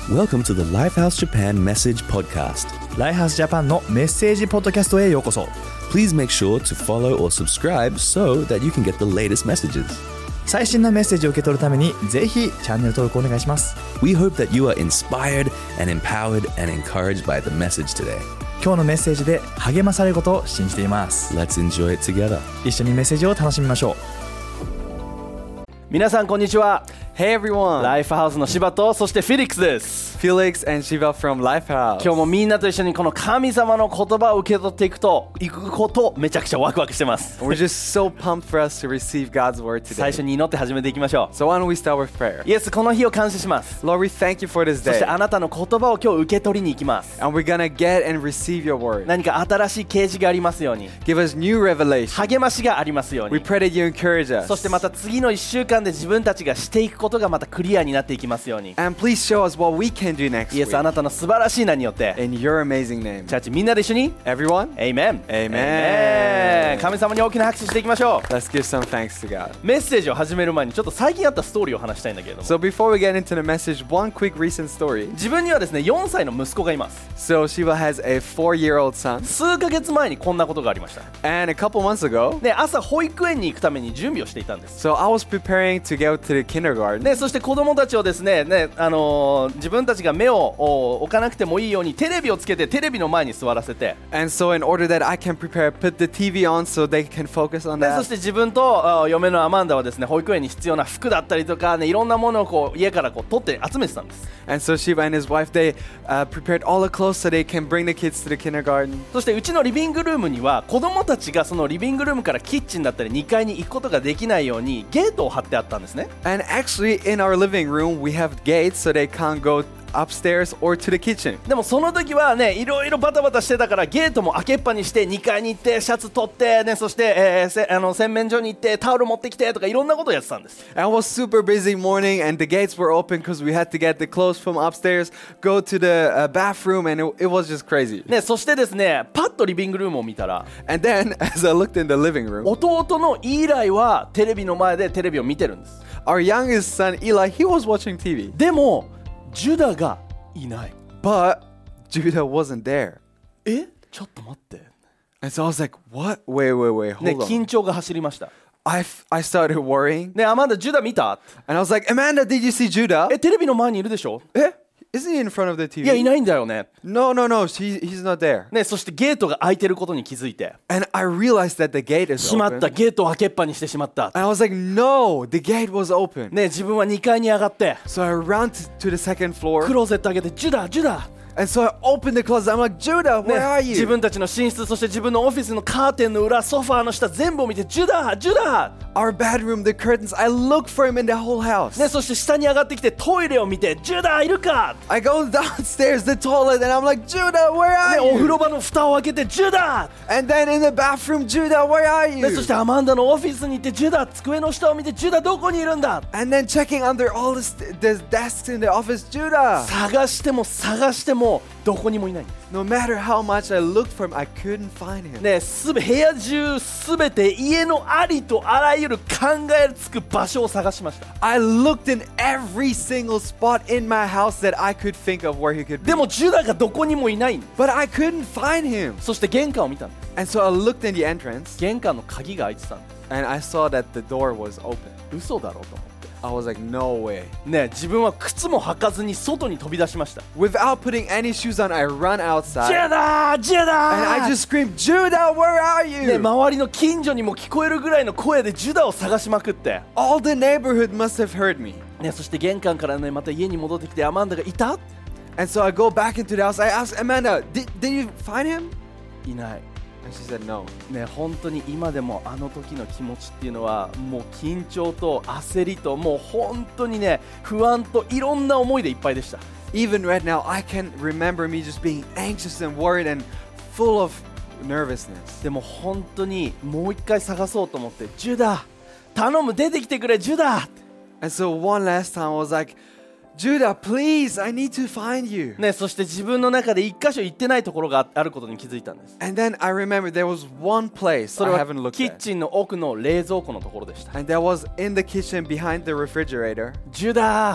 Welcome to the Lifehouse Japan Message Podcast. ライハースジャパンのメッセージポッドキャストへようこそ。 Please make sure to follow or subscribe so that you can get the latest messages. 最新のメッセージを受け取るためにぜひチャンネル登録お願いします。 We hope that you are inspired and empowered and encouraged by the message today. 今日のメッセージで励まされることを信じています。 Let's enjoy it together. 一緒にメッセージを楽しみましょう。 皆さんこんにちは。 Hey everyone, ライフハウスの柴とそしてフェリックスです。 Felix and Shiva from Lifehouse. 今日もみんなと一緒にこの神様の言葉を受け取っていくことめちゃくちゃワクワクしてます。 We're just so pumped for us to receive God's word 最 today. 初に祈って始めていきましょ So why don't we start with prayer? う。イエス、この日を感謝します。 Lord, we thank you for this そして day. あなたの言葉を今日受け取りに行きます。 And we're gonna get and receive your word. 何か新しい啓示がありますように、 Give us new revelation. 励ましがありますよう We に、 pray that you encourage us. そしてまた次の1週間で自分たちがしていくことがまたクリアになっていきますように。 And please show us what we can do next イエス、あ week. なたの素晴らしい名によって、 In your amazing name. チャーチみんなで一緒に Everyone, Amen Amen 神様に大きな拍手していきましょう。 let's give some thanks to God. メッセージを始める前にちょっと最近あったストーリーを話したいんだけれども、 So before we get into the message, one quick recent story. 自分にはですね4歳の息子がいます。 So Shiva has a 4-year-old son. 数ヶ月前にこんなことがありました。 And a couple months ago, で、朝保育園に行くために準備をしていたんです。 so I was preparing to go to the kindergarten. で、そして子供たちをですね、自分たちが目を置かなくてもいいようにテレビをつけてテレビの前に座らせて、 And so in order that I can prepare, put the TV on so they can focus on でそ that. して自分と嫁のアマンダはですね、保育園に必要な服だったりとかね、いろんなものをこう家からこう取って集めてたんです。 And so Shiva and his wife, they prepared all the clothes so they can bring the kids to the kindergarten. そしてうちのリビングルームには子供たちがそのリビングルームからキッチンだったり2階に行くことができないようにゲートを張ってあったんですね。 And actually in our living room, we have gates so they can't go upstairs or to the kitchen. でもその時はね、いろいろバタバタしてたからゲートも開けっぱにして2階に行ってシャツ取ってね、そして、洗面所に行ってタオル持ってきてとかいろんなことをやってたんです。 And it was super busy morning and the gates were open because we had to get the clothes from upstairs, go to the bathroom, and it was just crazy. ね、そしてですね、パッとリビングルームを見たら And then as I looked in the living room, 弟のイーライはテレビの前でテレビを見てるんです。 our youngest son Eli, he was watching TV. でもジュダがいない。 But Judah wasn't there. ちょっと待って、 And so I was like, what? Wait, hold ね、 on. 緊張が走りました。 I started worrying. ね、アマンダ、ジュダ見た？ And I was like, Amanda, did you see Judah? テレビの前にいるでしょ？ Isn't he in front of the TV? いや、いないんだよね。 No, he's not there. ね、そしてゲートが開いてることに気づいて、 And I realized that the gate is しまった、 open. ゲートを開けっぱにしてしまった。 And I was like, no, the gate was open. ね、自分は2階に上がって So I ran to the second ク floor. ローゼット開けて、ジュダ、ジュダ、 And so I opened the closet. I'm like, Judah, ね where are 自 you? 分たちの寝室、そして自分のオフィスのカーテンの裏、ソファーの下全部を見て、ジュダ、ジュダ、 Our bedroom, the curtains. I looked for him in the whole house. ね、そして下に上がってきてトイレを見て、ジュダいるか、 I go downstairs, the toilet, and I'm like, Judah, where ね、 are お風呂 you? 場の蓋を開けて、ジュダ、 And then in the bathroom, Judah, where are ね、そ you? してアマンダのオフィスに行って、ジュダ、机の下を見て、ジュダどこにいるんだ、 And then checking under all the desks in the office, Judah. 探してもどこにもいない。 No matter how much I looked for him, I couldn't find him. ね、部屋中すべて家のありとあらゆる考えつく場所を探しました。 I looked in every single spot in my house that I could think of where he could be. でもジュダがどこにもいないんです。 But I couldn't find him. そして玄関を見たんです。 And so I looked in the entrance 玄関の鍵が開いてたんです。 and I saw that the door was open. 嘘だろうと思って、 I was like, no way. ね、自分は靴も履かずに外に飛び出しました。 Without putting any shoes on, I run ジ outside ュダ、ジュ and I ダ、 just screamed, Judah, where are ね、 you? 周りの近所にも聞こえるぐらいの声でジュダを探しまくって、 All the neighborhood must have heard me. ね、そして玄関からねまた家に戻ってきて、アマンダがいた？ And so I go back into the house. I asked Amanda, did you find him? いない。 And she said, no. ね、本当に今でもあの時の気持ちっていうのはもう緊張と焦りともう本当にね不安といろんな思いでいっぱいでした。 Even right now, I can remember me just being anxious and worried and full of nervousness. でも本当にもう一回探そうと思って、ジュダ頼む出てきてくれジュダ、 And so one last time I was like, Judah, please, I need to find you. ね、そして自分の中で一箇所行ってないところがあることに気づいたんです。 And then I remember there was one place それ I は haven't looked キッ at. チンの奥の冷蔵庫のところでした。 And that was in the kitchen behind the refrigerator. ジュダ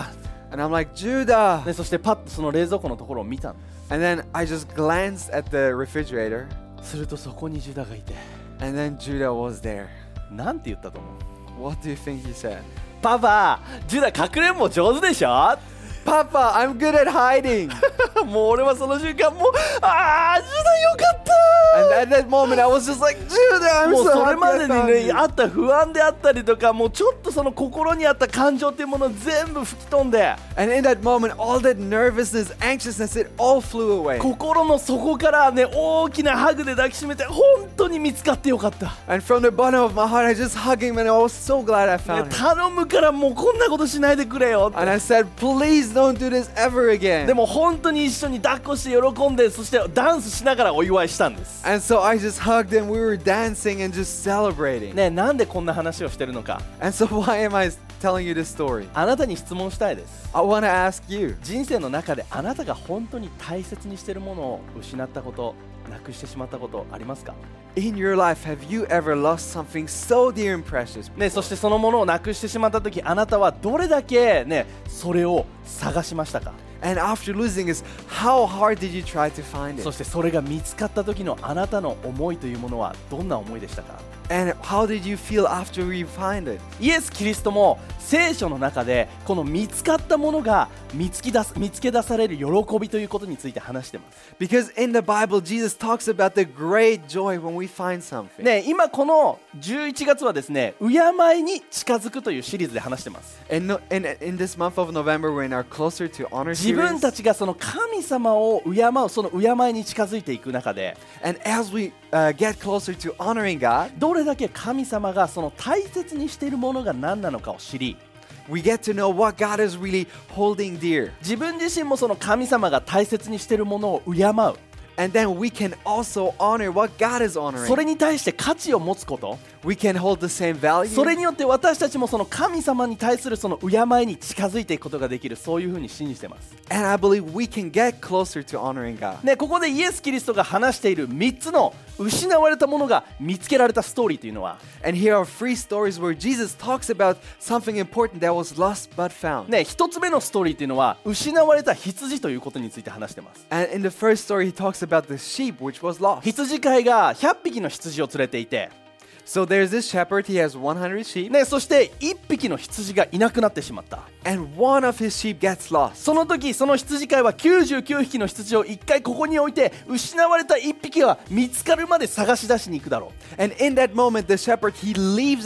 And I'm like, Judah! でそしてパッとその冷蔵庫のところを見たんで And then I just glanced at the refrigerator, す。するとそこにジュダがいて、 and then Judah was there. なんて言ったと思う？ What do you think he said? パパ、ジュダかくれんぼ上手でしょ？ Papa, I'm good at hiding. もう俺はその瞬間もう、あー、ジュダよかった And at that moment, I was just like, Judah, I'm もう so それ happy ま I でに found ね you. あった不安であったりとか、もうちょっとその心にあった感情っていうものを全部吹き飛んで、 And in that moment, all that nervousness, anxiousness, it all flew away. 心の底からね大きなハグで抱きしめて、本当に見つかってよかった、 And from the bottom of my heart, I just hugged him, and I was so glad I ね found him. 頼むからもうこんなことしないでくれよって。 And I said, please don't do this ever で again. も本当に一緒に抱っこして喜んで、そしてダンスしながらお祝いしたんです。 And so I just hugged him. We were dancing and just celebrating. ね、なんでこんな話をしてるのか、 And so why am I telling you this story? あなたに質問したいです。 I want to ask you, 人生の中であなたが本当に大切にしているものを失ったこと、なくしてしまったことありますか？ in your life, have you ever lost something so dear and precious? ね、そしてそのものをなくしてしまった時、あなたはどれだけねそれを探しましたか？ And after losing it, how hard did you try to find そ it? してそれが見つかった時のあなたの思いというものはどんな思いでしたか？ And how did you feel after you find it? イエス・キリストも聖書の中でこの見つかったものが見つけ出される喜びということについて話してます。 Because in the Bible, Jesus talks about the great joy when we find something. ね、今この11月はですね、敬いに近づくというシリーズで話してます。 And in this month of November, we're in our Closer to Honor 自分 series. たちがその神様を敬う、その敬いに近づいていく中で、 And as we get closer to honoring God, どれだけ神様がその大切にしているものが何なのかを知り、 we get to know what God is really holding dear. 自分自身もその神様が大切にしているものを敬う、 And then we can also honor what God is そ honoring. れに対して価値を持つこと、 We can hold the same value. それによって私たちもその神様に対するその敬いに近づいていくことができる、そういうふうに信じてます。 And I believe we can get closer to honoring God. ね、ここでイエス・キリストが話している3つの失われたものが見つけられたストーリーというのは、 And here are 3 stories where Jesus talks about something important that was lost but found. ね、1つ目のストーリーというのは失われた羊ということについて話してます。 And in the first story, he talks about the sheep which was lost. 羊飼いが100匹の羊を連れていて、 So there's this shepherd, he has 100 sheep, ね、そして1匹の羊がいなくなってしまった。 and one of his sheep gets lost. その時その羊飼いは99匹の羊を1回ここに置いて、失われた1匹が見つかるまで探し出しに行くだろう。 And in that moment, the shepherd, he leaves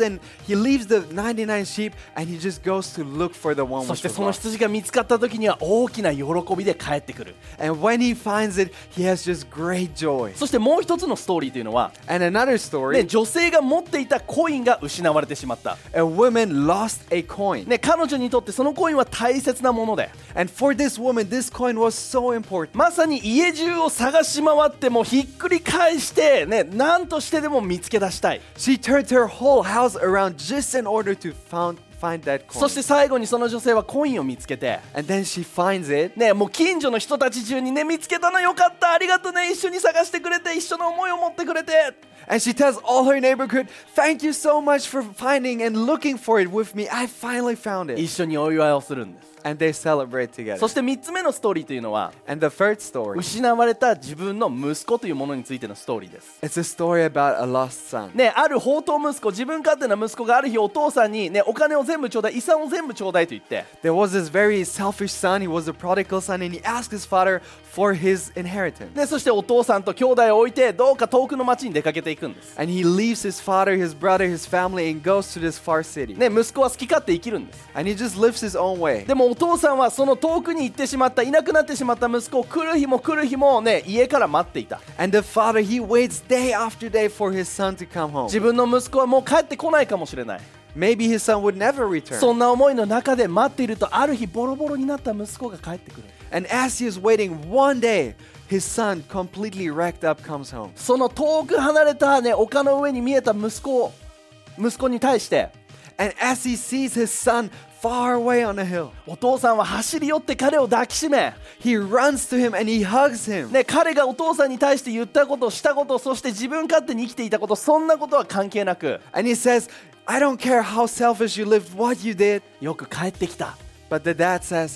the 99 sheep and he just goes to look for the one そ which して was その lost. 羊が見つかった時には大きな喜びで帰ってくる。 And when he finds it, he has just great joy. そしてもう一つのストーリーというのは、 And another ね、 story, 女性が持っていたコインが失われてしまった。 a woman lost a coin. ね、彼女にとってそのコインは大切なもので、 And for this woman, this coin was so important. まさに家中を探し回ってもひっくり返してね、何としてでも見つけ出したい。 She turned her whole house around just in order to find that そ coin. して最後にその女性はコインを見つけて、 And then she finds it. ね、もう近所の人たち中にね、見つけたのよかった、ありがとうね、一緒に探してくれて、一緒の思いを持ってくれて、 And she tells all her neighborhood, thank you so much for finding and looking for it with me. I finally found 一 it. 緒にお祝いをするんです。 And they celebrate そ together. して3つ目のストーリーというのは、 And the third story, 失われた自分の息子というものについてのストーリーです。 it's a story about a lost son. ね、ある放蕩息子、自分勝手な息子がある日お父さんに、ね、お金を全部ちょうだい、遺産を全部ちょうだいと言って、 There was this very selfish son. He was a prodigal son, and he asked his father for his inheritance. でそしてお父さんと兄弟を置いてどうか遠くの町に出かけていくんです。 And he leaves his father, his brother, his family, and goes to this far city. ね、息子は好き勝手生きるんです。 And he just lives his own way. でもお父さんはその遠くに行ってしまった、いなくなってしまった息子を来る日も来る日も、ね、家から待っていた。 And the father, he waits day after day for his son to come home. 自分の息子はもう帰ってこないかもしれない。 Maybe his son would never そ return. んな思いの中で待っていると、ある日ボロボロになった息子が帰ってくる。 And as he is waiting, one day, his son, completely wrecked up, comes home. その遠く離れた、ね、丘の上に見えた息子に対して、 And as he sees his son far away on a hill, お父さんは走り寄って彼を抱きしめ、 he runs to him and he hugs him. ね、彼がお父さんに対して言ったこと、したこと、そして自分勝手に生きていたこと、そんなことは関係なく、 And he says, I don't care how selfish you lived, what you did. よく帰ってきた。 But the dad says,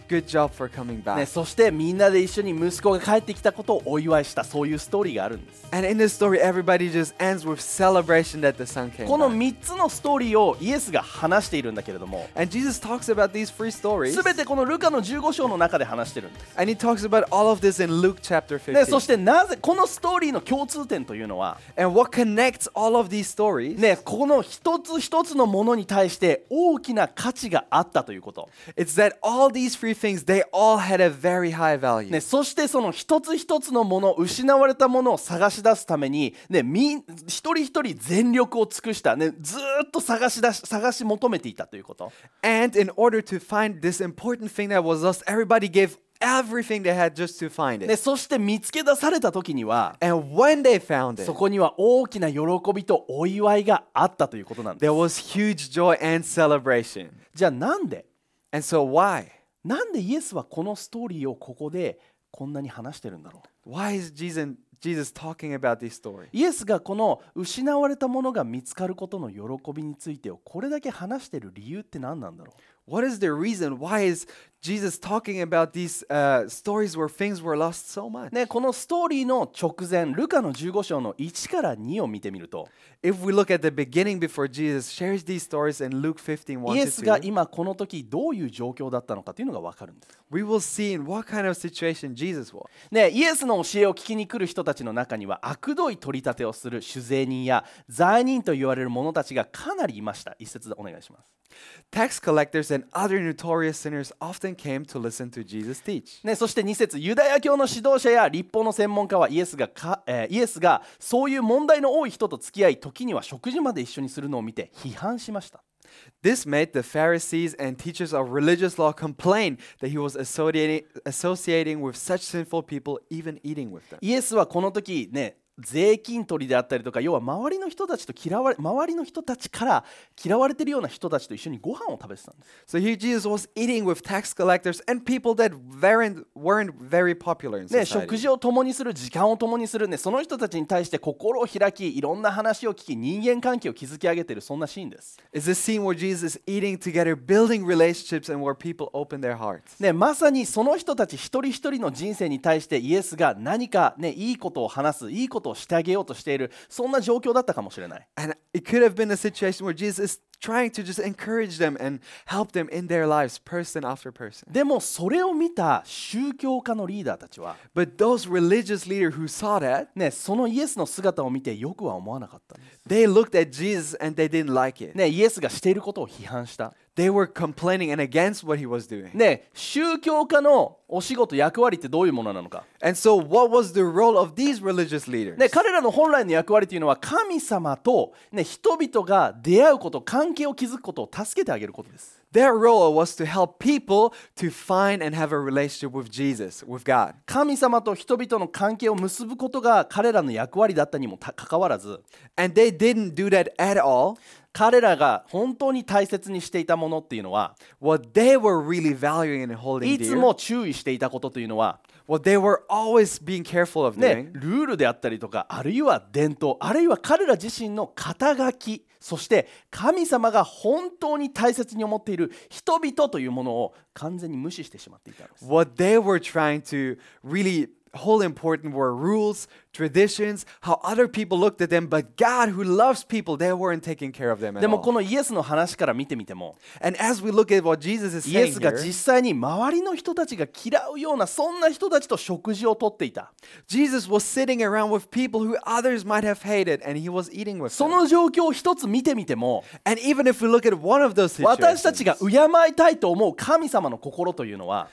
good job for coming back. ね、そしてみんなで一緒に息子が帰ってきたことをお祝いした、そういうストーリーがあるんです。 And in this story, everybody just ends with celebration that the son came この back. 3つのストーリーをイエスが話しているんだけれども、 And Jesus talks about these three stories. すべてこのルカの15章の中で話してるんです。 And he talks about all of this in Luke chapter ね、そ 15. してなぜこのストーリーの共通点というのは、 And what connects all of these stories ね、この一つ一つのものに対して大きな価値があったということ、 it's that all these three things, they all had a very high value. ね、そしてその一つ一つのもの、失われたものを探し出すために、ね、一人一人全力を尽くした、ね、ずーっと探し求めていたということ。 And in order to find this important thing that was lost, everybody gave everything they had just to find it. ね、そして見つけ出された時には、 And when they found it, そこには大きな喜びとお祝いがあったということなんです。 there was huge joy and celebration. じゃあなんで And so why? なんでイエスはこのストーリーをここでこんなに話してるんだろう。 Why is Jesus talking about this story? イエスがこの失われたものが見つかることの喜びについてをこれだけ話している理由って何なんだろう。 What is the reason? Why is Jesus talking about these stories where things were lost so much? ね、このストーリーの直前、ルカの15章の1から2を見てみると、 If we look at the beginning before Jesus shares these stories in Luke 15:1 to イエスが 2, 今この時どういう状況だったのかというのが分かるんです。 we will see in what kind of situation Jesus was. ね、イエスの教えを聞きに来る人たちの中には悪どい取り立てをする酒税人や罪人と言われる者たちがかなりいました。一節でお願いします。 Tax collectors and other notorious sinners often came to listen to Jesus teach. ね、そして2節、ユダヤ教の指導者や立法の専門家はイエスがそういう問題の多い人と付き合い、時には食事まで一緒にするのを見て批判しました。 This made the Pharisees and teachers of religious law complain that he was associating with such sinful people, even eating with them. イエスはこの時ね、税金取りであったりとか、要は周りの人たちから嫌われているような人たちと一緒にご飯を食べてたんです。 So here Jesus was eating with tax collectors and people that weren't very popular in ね、食 society. 事を共にする、時間を共にする、ね、その人たちに対して心を開き、いろんな話を聞き、人間関係を築き上げている、そんなシーンです。 It's the scene where Jesus is eating together, building relationships, and where people open their hearts. ね、まさにその人たち一人一人の人生に対してイエスが何か、ね、いいことを話す、いいことをしてあげようとしている、そんな状況だったかもしれない。 And it could have been a situation where Jesus is trying to just encourage them and help them in their lives, person after person. でもそれを見た宗教家のリーダーたちは、 But those religious leaders who saw that, ね、そのイエスの姿を見てよくは思わなかったんです。 they looked at Jesus and they didn't like it. ね、イエスがしていることを批判した。 They were complaining and against what he was doing. ね、宗教家のお仕事、役割ってどういうものなのか。 And so what was the role of these religious leaders? ね、彼らの本来の役割というのは神様と、ね、人々が出会うこと、関係を築くことを助けてあげることです。 Their role was to help people to find and have a relationship with Jesus, with God. 神様と人々の関係を結ぶことが彼らの役割だったにもかかわらず、 And they didn't do that at all. 彼らが本当に大切にしていたものっていうのは、 What they were really valuing and holding いつ dear, も注意していたことというのは、 what they were always being careful of ね doing, ルールであったりとか、あるいは伝統、あるいは彼ら自身の肩書き、そして神様が本当に大切に思っている人々というものを完全に無視してしまっていたんです。 what they were trying to really hold important were rules, traditions, how other people looked at them, but God who loves people, they weren't taking care of them で at もこ all. のイエスの話から見てみても、 And as we look at what Jesus is イエ saying スが here, 実際に周りの人たちが嫌うような、そんな人たちと食事をとっていた。 Jesus was sitting around with people who others might have hated, and he was eating with そ them. の状況を一つ見てみても、 And even if we look at one of those 私たち situations, が敬いたいと思う神様の心というのは、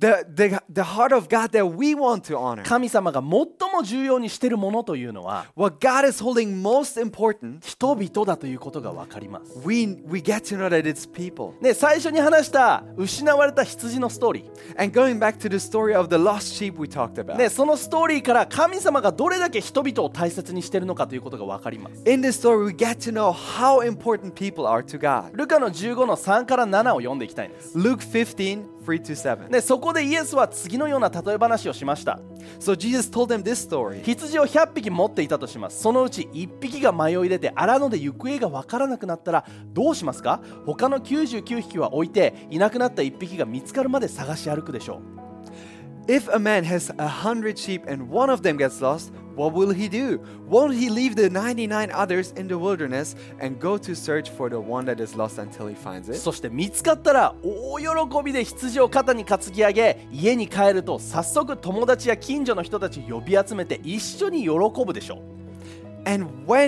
the heart of God that we want to honor, 神様が最も重要にしているものというのは what God is holding most important, 人々だということが分かります。 we get to know that it's people. ね、最初に話した失われた羊のストーリー、 And going back to the story of the lost sheep we talked about, ね、そのストーリーから神様がどれだけ人々を大切にしているのかということが分かります。 in this story we get to know how important people are to God. ルカの15の3から7を読んでいきたいんです。 Luke 15, 3-7. でそこでイエスは次のような例え話をしました。 So Jesus told them this story. 羊を100匹持っていたとします。そのうち1匹が迷い出て荒野で行方がわからなくなったらどうしますか？他の99匹は置いていなくなった1匹が見つかるまで探し歩くでしょう。 If a man has 100 sheep and one of them gets lost, what will he do? Won't he leave the 99 others in the wilderness and go to search for the one that is lost until he finds it? そして見つかったら大喜びで羊を肩に担ぎ上げ家に帰ると早速友達や近所の人たちを呼び集めて一緒に喜ぶでしょう。 And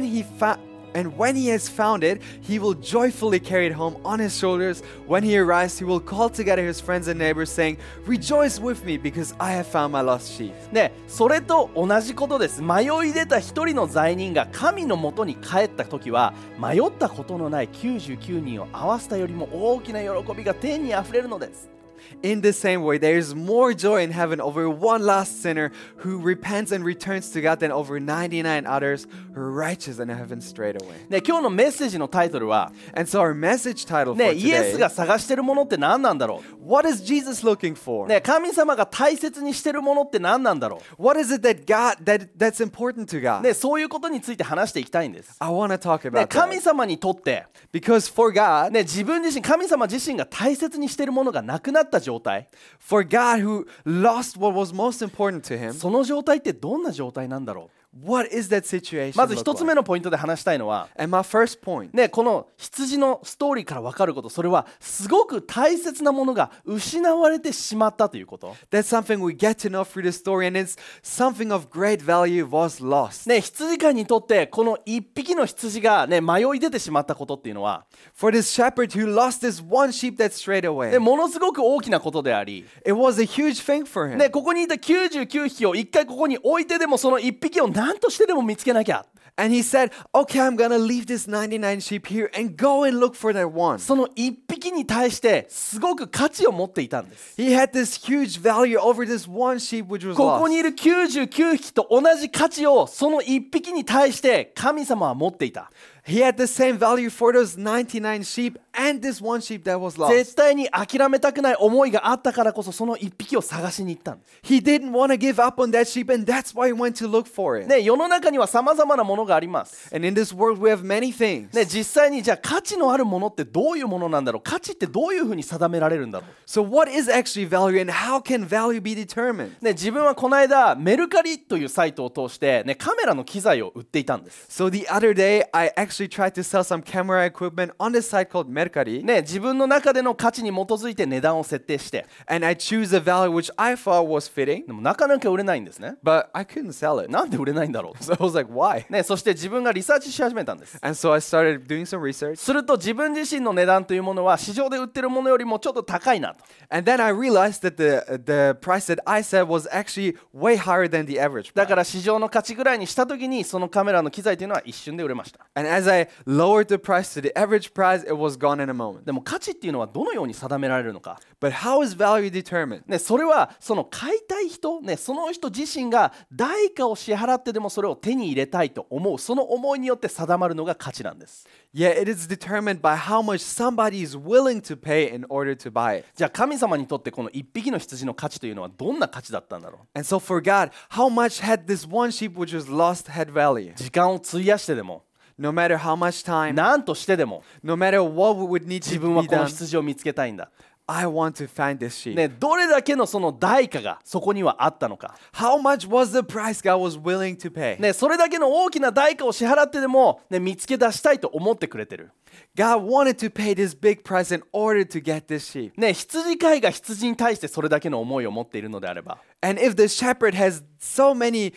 when he has found it, he will joyfully carry it home on his shoulders. When he arrives, he will call together his friends and neighbors, saying, "Rejoice with me, because I have found my lost sheep." でそれと同じことです。迷い出た一人の罪人が神のもとに帰った時は迷ったことのない99人を合わせたよりも大きな喜びが天にあふれるのです。 In the same way, there is more joy in heaven over one lost sinner who repents and returns to God than over 99 others who are righteous and heaven straight away. ね、今日のメッセージのタイトルは、 And so our message title for ね、イエス today, が探してるものって何なんだろ what is Jesus looking う、 for? ね、神様が大切にしてるものって何なんだろ What is it that's important to う、 God? ね、そういうことについて話していきたいんです。 I want to talk ね、 about 神 that. 様にとって、 Because for God, ね、自分自身神様自身が大切にしてるものがなくなった状態、 for God who lost what was most important to him, その状態ってどんな状態なんだろ what is that う。 situation まず look 一つ目 like? のポイントで話したいのは、 And my first point, ね、この羊のストーリーから分かること、それはすごく大切なものが失われてしまったということ。 that's something we get to know through the story, and it's something of great value was lost. ね、羊飼いにとってこの一匹の羊が、ね、迷い出てしまったことっていうのは、 For this shepherd who lost this one sheep that strayed away, ね、ものすごく大きなことであり、 it was a huge thing for him. ね、ここにいた99匹を一回ここに置いてでもその一匹を何としてでも見つけなきゃ。 And he said, okay, I'm gonna leave this 99 sheep here and go and look for that one. その一匹に対してすごく価値を持っていたんです。 He had this huge value over this one sheep which was ここに lost. いる99匹と同じ価値をその一匹に対して神様は持っていた。 He had the same value for those 99 sheep and this one sheep that was lost. 絶対に諦めたくない思いがあったからこそその一匹を探しに行ったんです。 He didn't want to give up on that sheep, and that's why he went to look for it. ね、世の中には様々なものがあります。 And in this world, we have many things. ね、実際にじゃあ価値のあるものってどういうものなんだろう、価値ってどういうふうに定められるんだろう。 So, what is actually value, and how can value be determined? ね、自分はこの間メルカリというサイトを通して、ね、カメラの機材を売っていたんです。 So, the other day, I actually tried to sell some camera equipment on this site called Mercari, ね、自分の中での価値に基づいて値段を設定して、 and I choose a value which I thought was fitting, でもなかなか売れないんですね。 but I couldn't sell it. なんで売れないんだろう。 So, I was like, why? ね、そして自分がリサーチし始めたんです。 And so, I started doing some research, すると自分自身の値段というものは市場で売ってるものよりもちょっと高いなと。 and then I realized that the price that I said was actually way higher than the average だ price. から市場の価値ぐらいにした時にそのカメラの機材というのは一瞬で売れました。 And as I lowered the price to the average price, it was gone in a moment. でも価値っていうのはどのように定められるのか。 But how is value determined? ね、それはその買いたい人、ね、その人自身が代価を支払ってでもそれを手に入れたいと思うその思いによって定まるのが価値なんです。 Yeah, it is determined by how much somebody is willing to pay in order to buy it. じゃあ神様にとってこの一匹の羊の価値というのはどんな価値だったんだろう。 And so for God, how much had this one sheep which was lost had value? 時間を費やしてでも No matter how much time, 何としてでも no matter what would need 自 to 分は be この done, 羊を見つけたいんだ。 I want to find this sheep. ね、どれだけのその代価がそこにはあったのか。 How much was the price God was willing to pay? ね、それだけの大きな代価を支払ってでも、ね、見つけ出したいと思ってくれてる。 God wanted to pay this big price in order to get this sheep. ね、羊飼いが羊に対してそれだけの思いを持っているのであれば、 And if the shepherd has so many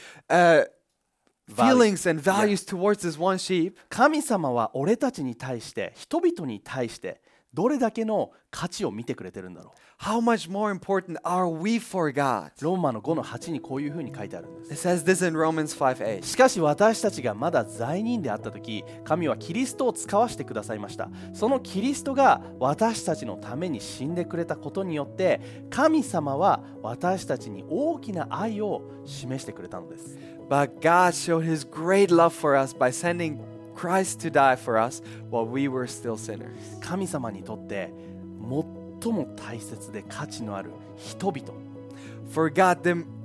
feelings and values towards this one sheep, 神様は俺たちに対して人々に対してどれだけの価値を見てくれてるんだろう。 how much more important are we for God? ローマの5の8にこういうふうに書いてあるんです。 It says this in Romans 5:8. しかし私たちがまだ罪人であった時、神はキリストを使わしてくださいました。そのキリストが私たちのために死んでくれたことによって神様は私たちに大きな愛を示してくれたのです。 But God showed his great love for us by sending Christ to die for us while we were still sinners. 神様にとって最も大切で価値のある人々。 For God,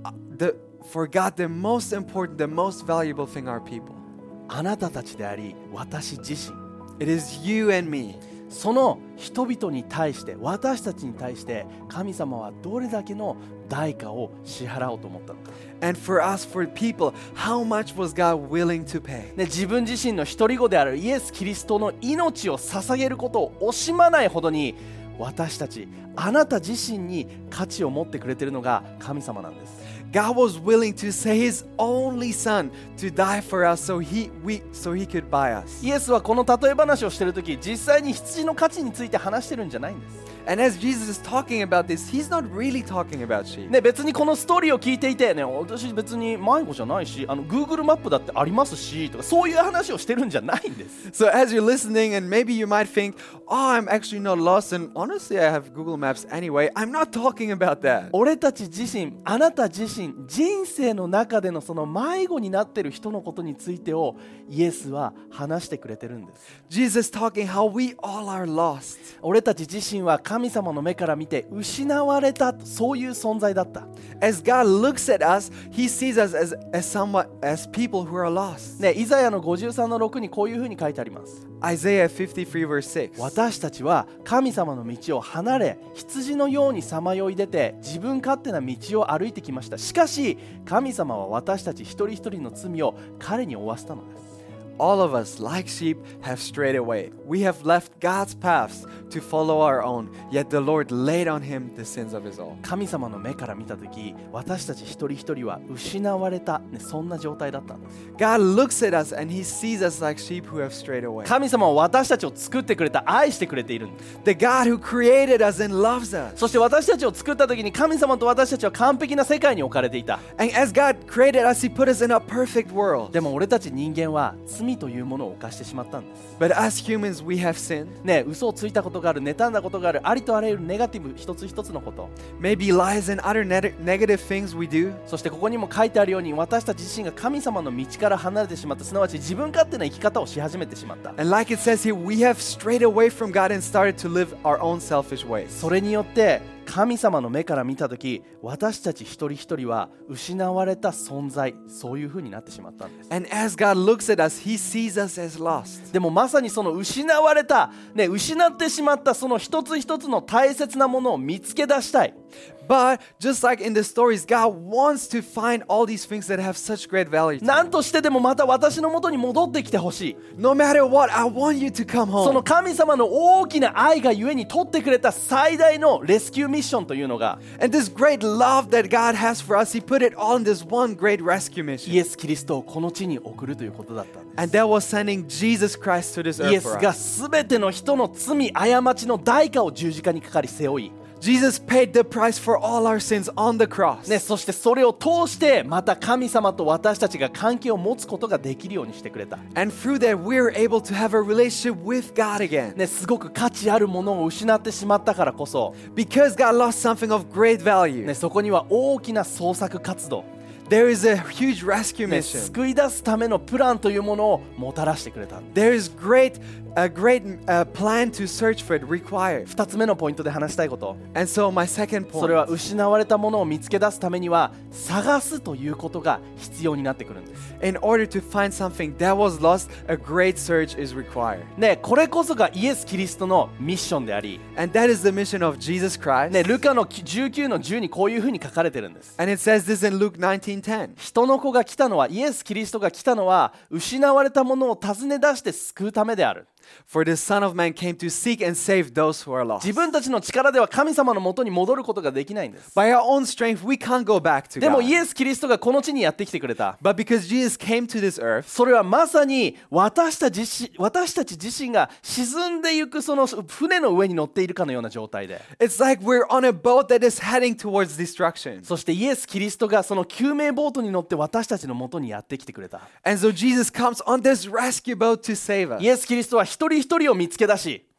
the most important, the most valuable thing are people. あなたたちであり私自身、 It is you and me. その人々に対して、私たちに対して神様はどれだけの代価を支払おうと思ったのか。 And for us, for people, how much was God willing to pay? ね、自分自身の一人子であるイエス・キリストの命を捧げることを惜しまないほどに、私たち、あなた自身に価値を持ってくれているのが神様なんです。 God was willing to send His only Son to die for us so He could buy us. イエスはこの例え話をしているとき、実際に羊の価値について話してるんじゃないんです。 And as Jesus is talking about this, He's not really talking about sheep. ね、別にこのストーリーを聞いていて、ね、私別に迷子じゃないし、Google マップだってありますしとか、そういう話をしてるんじゃないんです。 So as you're listening, and maybe you might think, oh, I'm actually not lost, and honestly, I have Google Maps anyway. I'm not talking about that. 俺たち自身、あなた自身、人生の中でのその迷子になっている人のことについてをイエスは話してくれてるんです。 Jesus talking how we all are lost. 俺たち自身は神様の目から見て失われた、そういう存在だった。 As God looks at us, He sees us as people who are lost. ね、イザヤの53の6にこういうふうに書いてあります。 Isaiah 53 verse 6. 私たちは神様の道を離れ、羊のようにさまよい出て自分勝手な道を歩いてきました。しかし神様は私たち一人一人の罪を彼に負わせたのです。 All of us, like sheep, have strayed away. We have left God's paths to follow our own, yet the Lord laid on Him the sins of us all. 神様の目から見たとき、私たち一人一人は失われた、ね、そんな状態だったんです。 God looks at us and He sees us like sheep who have strayed away. 神様は私たちを作ってくれた、愛してくれているんです。 The God who created us and loves us. そして私たちを作ったときに神様と私たちは完璧な世界に置かれていた。 And as God created us, He put us in a perfect world. でも俺たち人間は罪というものを犯してしまったんです。 But as humans, we have sinned. ね、嘘をついたことがある、妬んだことがある、ありとあらゆるネガティブ一つ一つのこと。 Maybe lies and other negative things we do. そしてここにも書いてあるように、私たち自身が神様の道から離れてしまった、すなわち自分勝手な生き方をし始めてしまった。 And like it says here, we have strayed away from God and started to live our own selfish ways. それによって神様の目から見たとき、私たち一人一人は失われた存在、そういう風になってしまったんです。 And as God looks at us, He sees us as lost. でもまさにその失われた、ね、失ってしまったその一つ一つの大切なものを見つけ出したい。 But just like in the stories, God wants to find all these things that have such great value. 何としてでもまた私の元に戻ってきてほしい。 No matter what, I want you to come その home. 神様の大きな愛がゆえに取ってくれた最大のレスキューミッションというのが、 And this great love that God has for us, He put it all in this one great rescue イ mission. エス・キリストをこの地に送るということだったんです。 And that was sending Jesus Christ to this イエ earth ス for が us. 全ての人の罪、過ちの代価を十字架にかかり背負い、 Jesus paid the price for all our sins on the cross. ね、そしてそれを通してまた神様と私たちが関係を持つことができるようにしてくれた。 And through that, we're able to have a relationship with God again. ね、すごく価値あるものを失ってしまったからこそ、 Because God lost something of great value, ね、そこには大きな捜索活動、 there is a huge rescue ね、 mission. 救い出すためのプランというものをもたらしてくれた。 There is a great plan to search for it required. 2つ目のポイントで話したいこと、 And so my second それは point, 失われたものを見つけ出すためには探すということが必要になってくるんです。 in order to find something that was lost, a great search is required. ね、これこそがイエス・キリストのミッションであり、 And that is the mission of Jesus Christ. ね、ルカの19の10にこういうふうに書かれてるんです。 And it says this in Luke 19:10. 人の子が来たのは、イエス・キリストが来たのは失われたものを尋ね出して救うためである。 For the Son of Man came to seek and save those who are lost. 自分たちの力では神様のもとに戻ることができないんです。 By our own strength, we can't go back to でも God. イエス・キリストがこの地にやってきてくれた。 But because Jesus came to this earth, それはまさに私たち自身が沈んでいくその船の上に乗っているかのような状態で、 it's like we're on a boat that is heading towards destruction. そしてイエス・キリストがその救命ボートに乗って私たちのもとにやってきてくれた。 And so Jesus comes on this rescue boat to save us. イエス・キリストは一人一人を見つけ出し、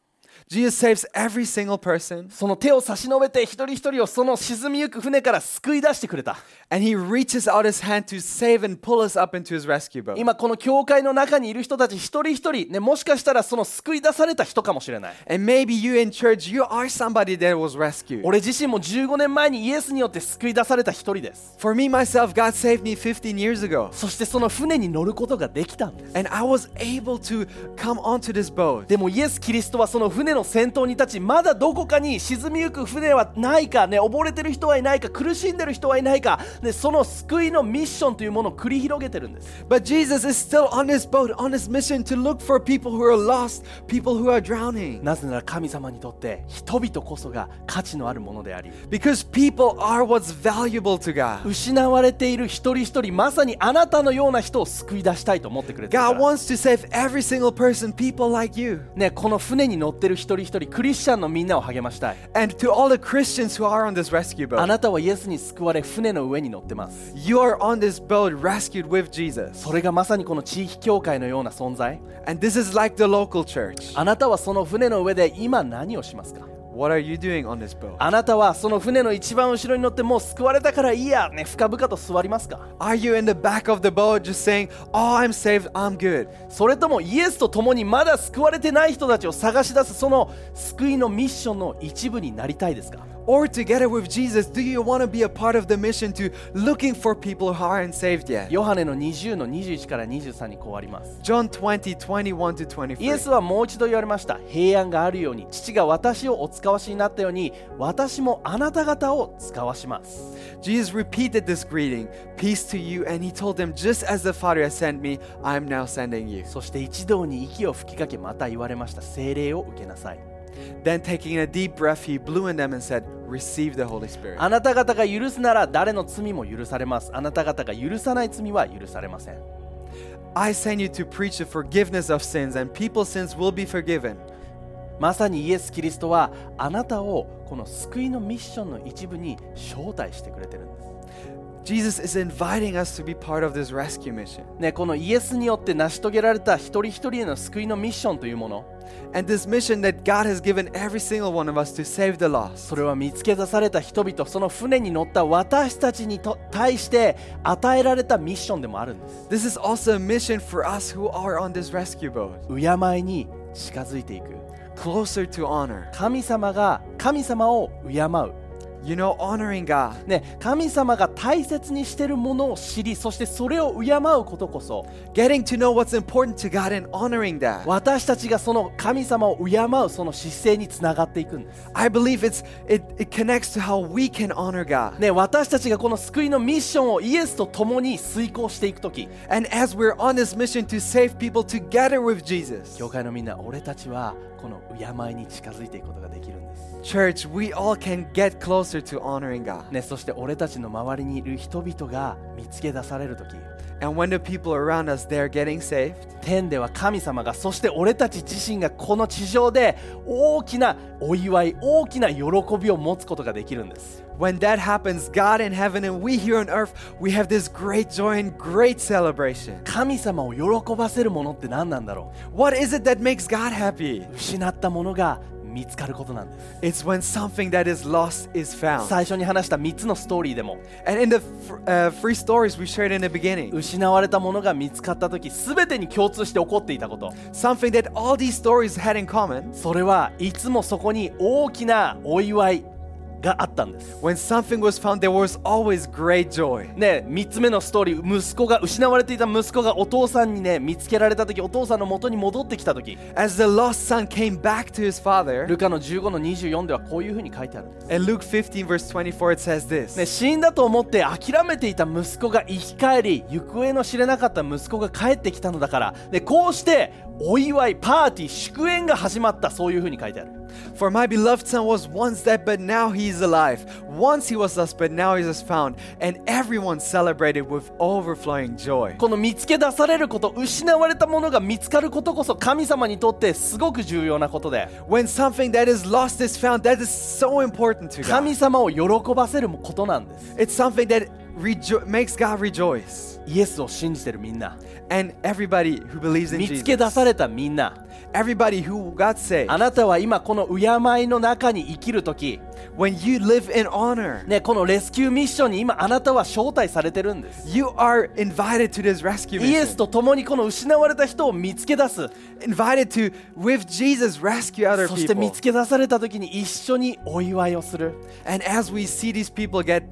Jesus saves every single person, その手を差し伸べて一人一人をその沈みゆく船から救い出してくれた。 and he reaches out his hand to save and pull us up into his rescue boat. 今この教会の中にいる人たち一人一人、ね、もしかしたらその救い出された人かもしれない。 And maybe you in church, you are somebody that was rescued. 俺自身も15年前にイエスによって救い出された一人です。 For me, myself, God saved me 15 years ago. そしてその船に乗ることができたんです。 And I was able to come onto this boat. でもイエス・キリストはその船の先頭に立ち、まだどこかに沈みゆく船はないか、ね、溺れてる人はいないか、苦しんでる人はいないか、ね、その救いのミッションというものを繰り広げてるんです。 But Jesus is still on this boat, on this mission to look for people who are lost, people who are drowning. なぜなら神様にとって人々こそが価値のあるものであり、 Because people are what's valuable to God. 失われている一人一人、まさにあなたのような人を救い出したいと思ってくれてるか God ら、 wants to save every single person, people like you. ね、この船に乗ってる一人一人、クリスチャンのみんなを励ましたい。 And to all the Christians who are on this rescue あ boat, なたはイエスに救われ船の上に乗ってます。 you are on this boat rescued with Jesus. それがまさにこの地域教会のような存在。 And this is like the local church. あなたはその船の上で今何をしますか？ What are you doing on this boat? あなたはその船の一番後ろに乗ってもう救われたからいいや、ね、深々と座りますか？ Are you in the back of the boat just saying, oh, I'm saved, I'm good? それともイエスと共にまだ救われてない人たちを探し出すその救いのミッションの一部になりたいですか？ Or together with Jesus, do you want to be a part of the mission to looking for people who aren't saved yet? ヨハネの20の21から23にこうあります。 John 20, 21 to イエス 23. はもう一度言われました。平安があるように、父が私をお使わしになったように、私もあなた方を使わします。 Jesus repeated this greeting, peace to you, and he told them, just as the Father has sent me, I'm now sending you. そして一同に息を吹きかけ、また言われました。聖霊を受けなさい。 Then taking a deep breath, he blew in them and said, receive the Holy Spirit. あなた方が許すなら誰の罪も許されます。あなた方が許さない罪は許されません。 I send you to preach the forgiveness of sins, and people's sins will be forgiven. まさにイエス・キリストはあなたをこの救いのミッションの一部に招待してくれてるんです。 Jesus is inviting us to be part of this rescue mission. ね、このイエスによって成し遂げられた一人一人への救いのミッションというもの、 And this mission that God has given every single one of us to save the lost. それは見つけ出された人々、その船に乗った私たちに対して与えられたミッションでもあるんです。 This is also a mission for us who are on this rescue boat. 敬いに近づいていく。 Closer to honor. 神様を敬う。 You know, honoring God. ね、神様が大切にしているものを知り、そしてそれを敬うことこそ、 Getting to know what's important to God and honoring that. 私たちがその神様を敬うその姿勢につながっていくんです。 I believe it connects to how we can honor God. ね、私たちがこの救いのミッションをイエスと共に遂行していくとき、 And as we're on this mission to save people together with Jesus, 教会のみんな、俺たちはこの敬いに近づいていくことができるんです。 church, we all can get closer to honoring God. ね、そして俺たちの周りにいる人々が見つけ出されるとき、 And when the people around us, they're getting saved, 天では神様が、そして俺たち自身がこの地上で大きなお祝い、大きな喜びを持つことができるんです。 when that happens, God in heaven and we here on earth, we have this great joy and great celebration. 神様を喜ばせるものって何なんだろ What is it that makes God happy? う？失ったものが見つかることなんです。 It's when something that is lost is found. 最初に話した3つのストーリーでも、 And in the free stories we shared in the beginning, 失われたものが見つかったとき、全てに共通して起こっていたこと、 something that all these stories had in common, それはいつもそこに大きなお祝いがあったんです。 when something was found, there was always great joy. ね、3つ目のストーリー、息子が失われていた息子がお父さんにね見つけられたとき、お父さんの元に戻ってきたとき、 As the lost son came back to his father, ルカの15の24ではこういうふうに書いてあるんです。 in Luke 15 verse 24 it says this, ね、死んだと思って諦めていた息子が生き返り、行方の知れなかった息子が帰ってきたのだから、でこうしてお祝い、パーティー、祝宴が始まった、そういうふうに書いてある。 For my beloved son was once dead, but now he is alive. Once he was lost, but now he is found. And everyone celebrated with overflowing joy. この見つけ出されること、失われたものが見つかることこそ神様にとってすごく重要なことで、 When something that is lost is found, that is so important to 神 God. 様を喜ばせることなんです。 It's something that makes God rejoice. イエスを信じてるみんな、 And everybody who believes in 見つけ出 Jesus. されたみんな、 everybody who got saved, あなたは今この敬いの中に生きるとき、 when you live in honor, ね、このレスキューミッションに今あなたは招待されてるんです。 you are invited to this rescue イエス mission. と共にこの失われた人を見つけ出す。 Invited to, with Jesus, rescue other そして見 people. つけ出された時に一緒にお祝いをする。 And as we see these people get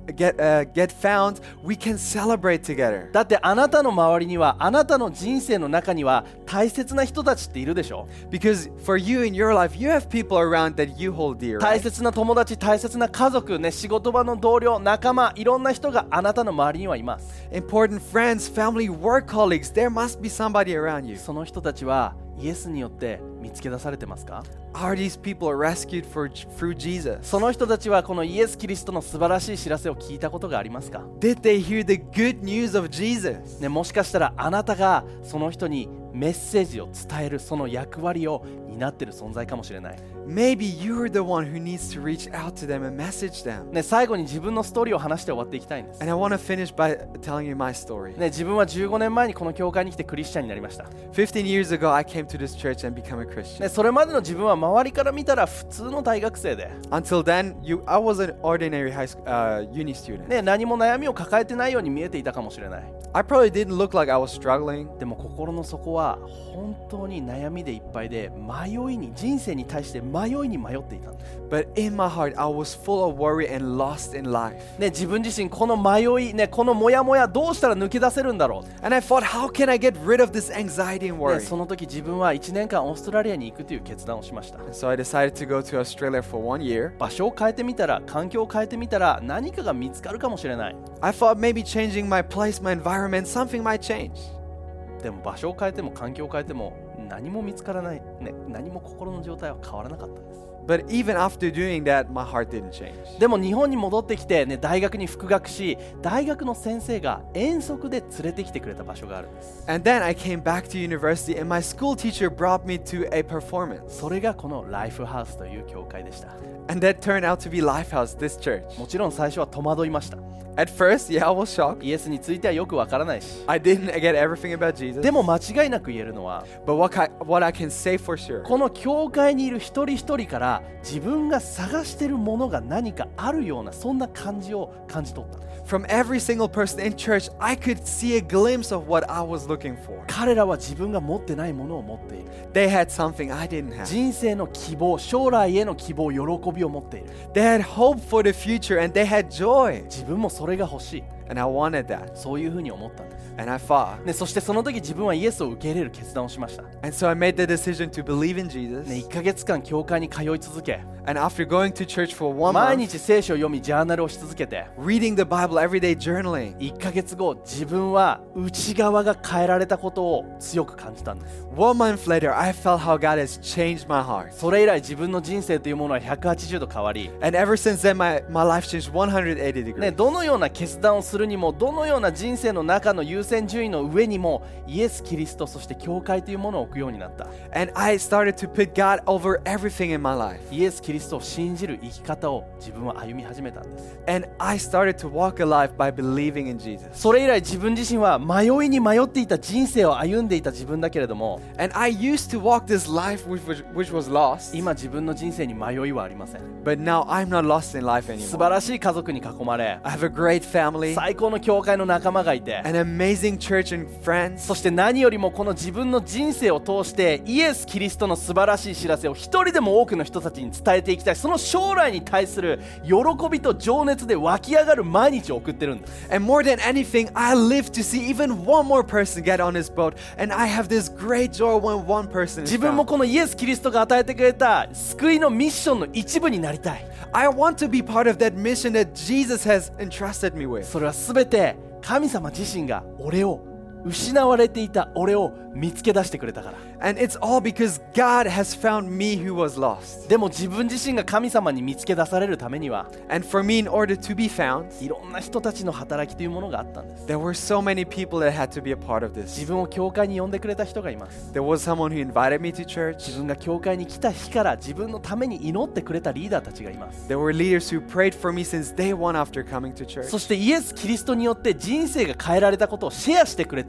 found, we can celebrate together. だってあなたの周りには、あなたの人生の中には大切な人たちっているでしょ。 Because for you in your life, you have people around that you hold dear. 大 Right? 切な友達、大切な家族、ね、仕事場の同僚、仲間、いろんな人があなたの周りにはいます。 Important friends, family, work colleagues, there must be somebody around you. その人たちはイエスによって見つけ出されてますか？ Are these people rescued through Jesus? その人たちはこのイエス・キリストの素晴らしい知らせを聞いたことがありますか？ Did they hear the good news of Jesus? ね、もしかしたらあなたがその人にメッセージを伝えるその役割を担っている存在かもしれない。 Maybe you're the one who needs to reach out to them and message them. ね、最後に自分のストーリーを話して終わっていきたいんです。 And I want to finish by telling you my story. ね、自分は15年前にこの教会に来てクリスチャンになりました。 15 years ago, I came to this church and became a Christian. ね、それまでの自分は周りから見たら普通の大学生で、 Until then, I was an ordinary uni student. ね、何も悩みを抱えてないように見えていたかもしれない。 I probably didn't look like I was struggling. でも心の底は本当に悩みでいっぱいで、人生に対して迷いに迷っていたんです。 But in my heart, I was full of worry and lost in life. ね、自分自身この迷い、ね、このモヤモヤどうしたら抜け出せるんだろう。 And I thought, how can I get rid of this anxiety and ね、 worry? その時自分は1年間オーストラリアに行くという決断をしました。 So I decided to go to Australia for 1 year. 場所を変えてみたら、環境を変えてみたら何かが見つかるかもしれない。 I thought maybe changing my place, my environment, something might change. でも場所を変えても環境を変えても何も見つからない、ね、何も心の状態は変わらなかったんです。 But even after doing that, my heart didn't change. でも日本に戻ってきて、ね、大学に復学し、大学の先生が遠足で連れてきてくれた場所があるんです。 And then I came back to university and my school teacher brought me to a performance. それがこのライフハウスという教会でした。 And that turned out to be Lifehouse, this church. もちろん最初は戸惑いました。 At first, yeah, I was shocked. イエスについてはよくわからないし、 I didn't get everything about Jesus. でも間違いなく言えるのは、 But what I can say for sure, この教会にいる一人一人から自分が探しているものが何かあるような、そんな感じを感じ取った。 from every single person in church, I could see a glimpse of what I was looking for. 彼らは自分が持ってないものを持っている。 They had something I didn't have. 人生の希望、将来への希望、喜びを持っている。 They had hope for the future and they had joy. 自分もそれが欲しい。 And I wanted that. そういうふうに思ったんです。 And I thought. ね、そしてその時自分はイエスを受け入れる決断をしました。 And so I made the decision to believe in Jesus. ね、1ヶ月間教会に通い続け、 And after going to church for 1 毎 month, 日聖書を読みジャーナルをし続けて、 reading the Bible every day, journaling, 1ヶ月後自分は内側が変えられたことを強く感じたんです。 1 month later, I felt how God has changed my heart. それ以来自分の人生というものは180度変わり、 And ever since then, my life changed 180 degrees. ね、どのような決断をするにも、どのような人生の中の優先順位の上にもイエス・キリスト、そして教会というものを置くようになった。 And I started to put God over everything in my life. イエス・キリストを信じる生き方を自分は歩み始めたんです。 And I started to walk alive by believing in Jesus. それ以来自分自身は迷いに迷っていた人生を歩んでいた自分だけれども、 And I used to walk this life which was lost. 今自分の人生に迷いはありません。 But now I'm not lost in life 素 anymore. 晴らしい家族に囲まれ、 I have a great family, 最高の教会の仲間がいて、 an amazing church and friends. そして何よりもこの自分の人生を通してイエス・キリストの素晴らしい知らせを一人でも多くの人たちに伝えていきたい、その将来に対する喜びと情熱で湧き上がる毎日を送ってるんです。 And more than anything, I live to see even one more person get on this boat. And I have this great joy when one person is 自分も found. このイエス・キリストが与えてくれた救いのミッションの一部になりたい。 I want to be part of that mission that Jesus has entrusted me with. それは全て神様自身が失われていた俺を見つけ出してくれたから。 And it's all because God has found me who was lost. でも自分自身が神様に見つけ出されるためには、 And for me, in order to be found, いろんな人たちの働きというものがあったんです。 there were so many people that had to be a part of 自 this. 分を教会に呼んでくれた人がいます。 There was someone who invited me to 自 church. 分が教会に来た日から自分のために祈ってくれたリーダーたちがいます。 There were leaders who prayed for me since day one after coming to church. そしてイエス・キリストによって人生が変えられたことをシェアしてくれた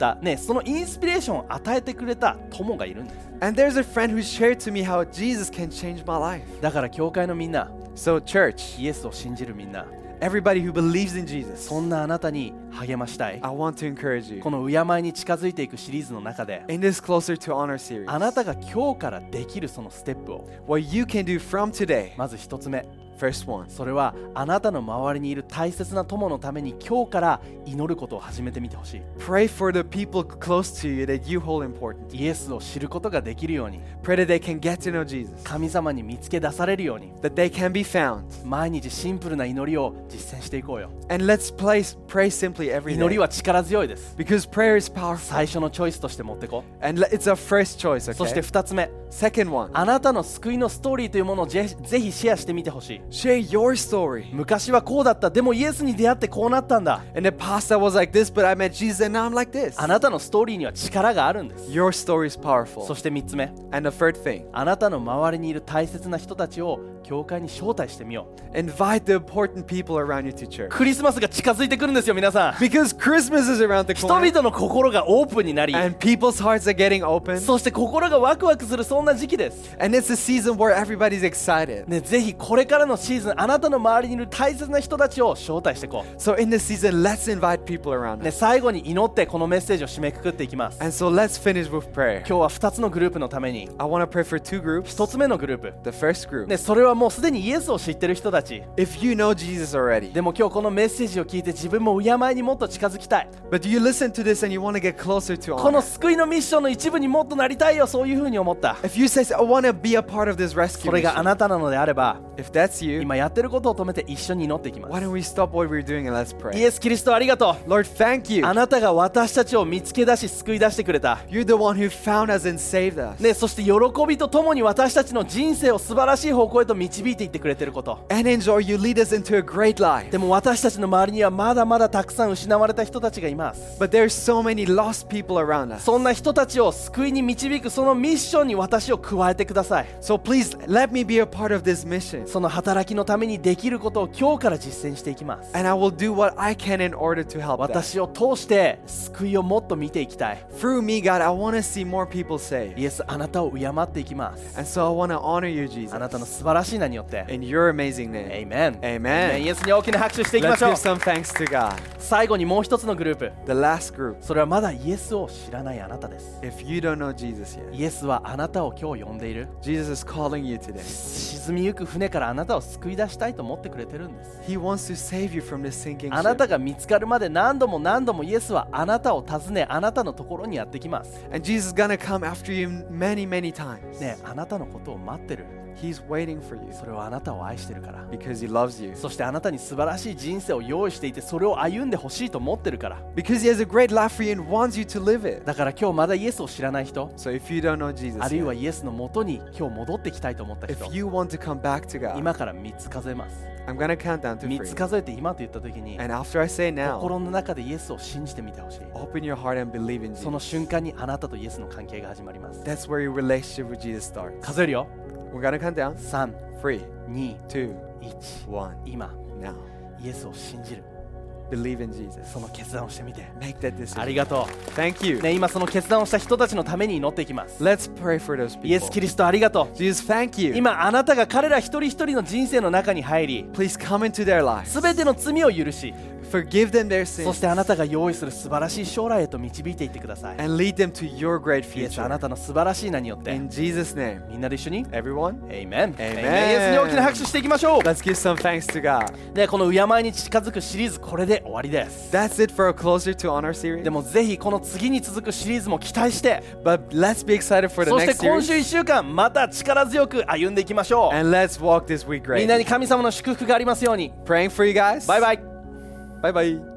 た、ね、そのインスピレーションを与えてくれた友がいるんです。 And there's a friend who shared to me how Jesus can change my life. だから教会のみんな、 So, church, イエスを信じるみんな、 everybody who believes in Jesus, そんなあなたに励ましたい。 I want to encourage you. この敬いに近づいていくシリーズの中で、 In this Closer to Honor series, あなたが今日からできるそのステップを、 what you can do from today, まず一つ目、 first one, それはあなたの周りにいる大切な友のために今日から祈ることを始めてみてほしい。 pray for the people close to you that you hold important. イエスを知ることができるように、 Pray that they can get to know Jesus, 神様に見つけ出されるように、 that they can be found. 毎日シンプルな祈りを実践していこうよ。 And let's pray simply every 祈り day. は力強いです。 Because prayer is powerful. 最初のチョイスとして持ってこう。 And it's our first choice, そして okay? 二つ目、 Second one, あなたの救いのストーリーというものをぜひシェアしてみてほしい。 share your story. 昔はこうだった、でもイエスに出会ってこうなったんだ。 In the past I was like this, but I met Jesus and now I'm like this. あなたのストーリーには力があるんです。 Your story is そ powerful. して三つ目、 And the third thing, あなたの周りにいる大切な人たちを教会に招待してみよう。 invite the important people around you to church. クリスマスが近づいてくるんですよ、皆さん。 Because Christmas is around the 人 corner. 々の心がオープンになり、 And people's hearts are getting open. そして心がワクワクするそんな時期です。 And it's a season where everybody's excited. ね、ぜひこれからのシーズン、あなたの周りにいる大切な人たちを招待していこう。 So in this season, let's invite people around ね、 us. 最後に祈ってこのメッセージを締めくくっていきます。 And so let's finish with prayer. 今日は2つのグループのために、 I want to pray for two groups. 1つ目のグループ、 The first group, ね、それはもうすでにイエスを知ってる人たち。 if you know Jesus already, でも今日このメッセージを聞いて自分も敬いにもっと近づきたい。 but you listen to this and you want to get closer to この honor. 救いのミッションの一部にもっとなりたいよ、そういうふうに思った。 If you say, I want to be a part of this そ rescue れがあ mission, なたなのであれば、 if that's you, 今やってることを止めて一緒に祈っていきま why す。 don't we stop what we're doing and let's イ pray? エス・キリストありがとう。 Lord, thank you. あなたが私たちを見つけ出し救い出してくれた。 You're the one who found us and saved us. ね、そして喜びとともに私たちの人生を素晴らしい方向へと導いていってくれていること。 And enjoy, you lead us into a great life. でも私たちの周りにはまだまだたくさん失われた人たちがいます。 But there's so many lost people around us. そんな人たちを救いに導くそのミッションに私を加えてください。 So please let me be a part of this mission. その働きのためにできることを今日から実践していきます。 And I will do what I can in order to help that. 私を通して救いをもっと見ていきたい。 Through me, God, I want to see more people saved. イエス、あなたを敬っていきます。 And so I want to honor you, Jesus. あなたの素晴らしい名によって。 In your amazing name. Amen。 Amen. イエスに大きな拍手していきま Let's しょう give。some thanks to God. 最後にもう一つのグループ。 The last group. それはまだイエスを知らないあなたです。 If you don't know Jesus yet, イエスはあなたを今日呼んでいる。 Jesus is calling you today. 沈みゆく船からあなたを救い出したいと思ってくれてるんです。 He wants to save you from this sinking あなた ship. が見つかるまで何度も何度もイエスはあなたを訪ね、あなたのところにやってきます。 And Jesus is going to come after you many, many times. ね、あなたのことを待ってる。 He's waiting for you それはあなたを愛してるから。 because he loves you. そしてあなたに素晴らしい人生を用意していて、それを歩んでほしいと思ってるから。 Because he has a great life for you and wants you to live it. だから今日まだイエスを知らない人、 So if you don't know Jesus あるいは yet, イエスのもとに今日戻ってきたいと思った人 if、you want to come back to God, 今から3つ数えます。 I'm going to count down to 3つ 3. 数えて今と言った時に、 And after I say now, 心の中でイエスを信じてみてほしい。 open your heart and believe in その Jesus. 瞬間にあなたとイエスの関係が始まります。 That's where your relationship with Jesus starts. 数えるよ。 We're going to count down. 3、 3, 2、 2, 1。 1. 今、 Now, イエスを信じる。 believe in Jesus. その決断をしてみて。 Make that あ decision. りがと Thank you. う。ね、今その決断をした人たちのために祈っていきます。 Let's pray for those イエス・キ people. リストありがとう。 Jesus, thank you. 今あなたが彼ら一人一人の人生の中に入り、 Please come into their lives. すべての罪を許し、 Forgive them their そ sins してあなたが用意する素晴らしい将来へと導いていってください。 and lead them to your great イエス、あな future. たの素晴らしい名によって、 In Jesus' name. みんなで一緒に Everyone, Amen。 Amen イエスに大きな拍手していきましょう。 let's give some thanks to God. で、この敬いに近づくシリーズ、これで終わりです。 That's it for a Closer to Honor series. でもぜひこの次に続くシリーズも期待して、 But let's be excited for the そして next 今週 series. 1週間また力強く歩んでいきましょう。 And let's walk this week みんなに great. 神様の祝福がありますように。 Praying for you guys. バイバイ。 Bye bye.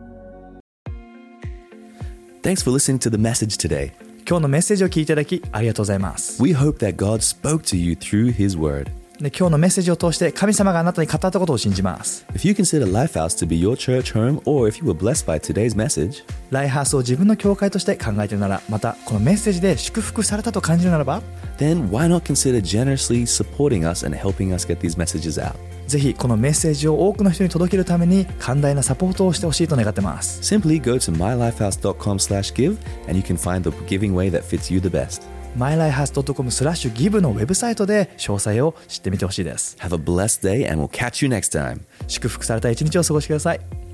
Thanks for listening to the message today. 今日のメッセージを聞いていただきありがとうございます。 We hope that God spoke to you through His Word. で、今日のメッセージを通して神様があなたに語ったことを信じます。 If you consider Lifehouse to be your church home, or if you were blessed by today's message, ライハースを自分の教会として考えているなら、またこのメッセージで祝福されたと感じるならば、 then why not consider generously supporting us and helping us get these messages out? ぜひこのメッセージを多くの人に届けるために寛大なサポートをしてほしいと願ってます。 Simply go to mylifehouse.com/give and you can find the giving way that fits you the best. mylifehouse.com/give のウェブサイトで詳細を知ってみてほしいです。 Have a blessed day and we'll catch you next time. 祝福された一日を過ごしてください。